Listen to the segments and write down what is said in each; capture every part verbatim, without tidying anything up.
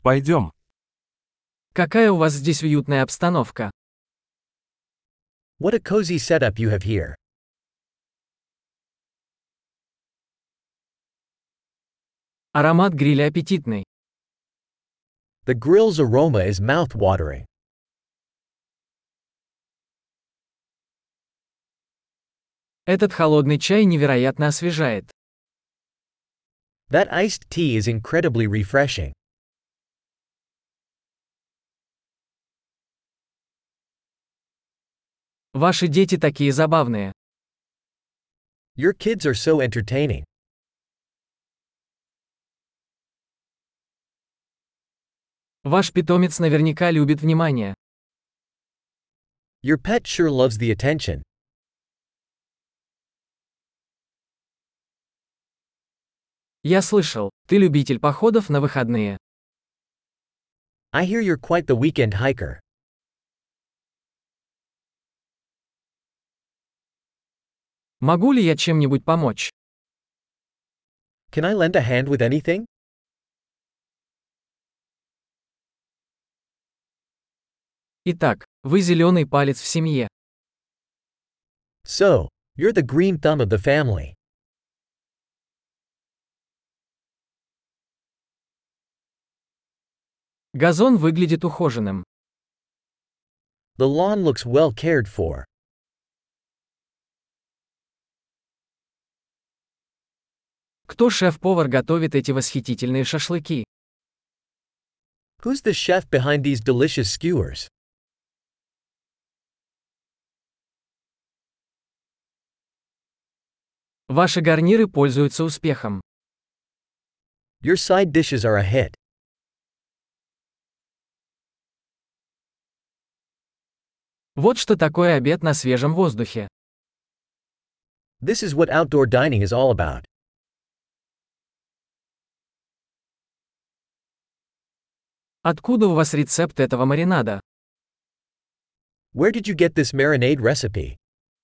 Пойдем. Какая у вас здесь уютная обстановка. What a cozy setup you have here. Аромат гриля аппетитный. The grill's aroma is mouth-watering. Этот холодный чай невероятно освежает. That iced tea is incredibly refreshing. Ваши дети такие забавные. Your kids are so entertaining. Ваш питомец наверняка любит внимание. Your pet sure loves the attention. Я слышал, ты любитель походов на выходные. I hear you're quite the weekend hiker. Могу ли я чем-нибудь помочь? Can I lend a hand with anything? Итак, вы зеленый палец в семье. So, you're the green thumb of the family. Газон выглядит ухоженным. The lawn looks well cared for. Кто шеф-повар готовит эти восхитительные шашлыки? Who's the chef behind these delicious skewers? Ваши гарниры пользуются успехом. Your side dishes are a hit. Вот что такое обед на свежем воздухе. This is what outdoor dining is all about. Откуда у вас рецепт этого маринада? Where did you get this marinade recipe?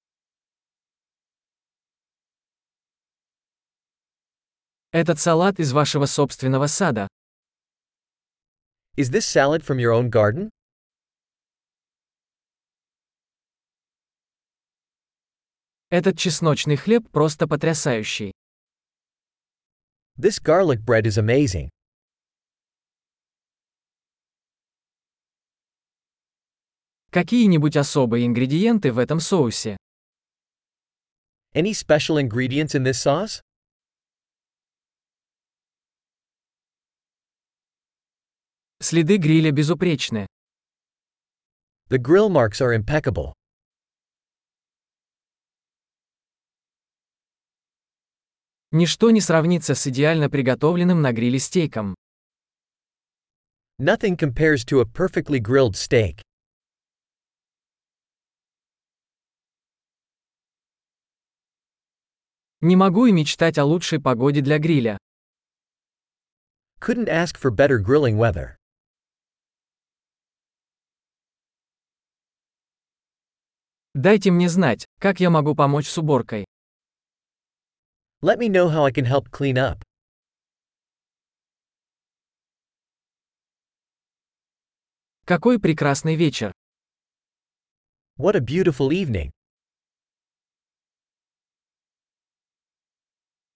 Этот салат из вашего собственного сада. Is this salad from your own garden? Этот чесночный хлеб просто потрясающий. This garlic bread is amazing. Какие-нибудь особые ингредиенты в этом соусе? Any special ingredients in this sauce? Следы гриля безупречны. The grill marks are impeccable. Ничто не сравнится с идеально приготовленным на гриле стейком. Nothing compares to a perfectly grilled steak. Не могу и мечтать о лучшей погоде для гриля. Couldn't ask for better grilling weather. Дайте мне знать, как я могу помочь с уборкой. Let me know how I can help clean up. Какой прекрасный вечер. What a beautiful evening.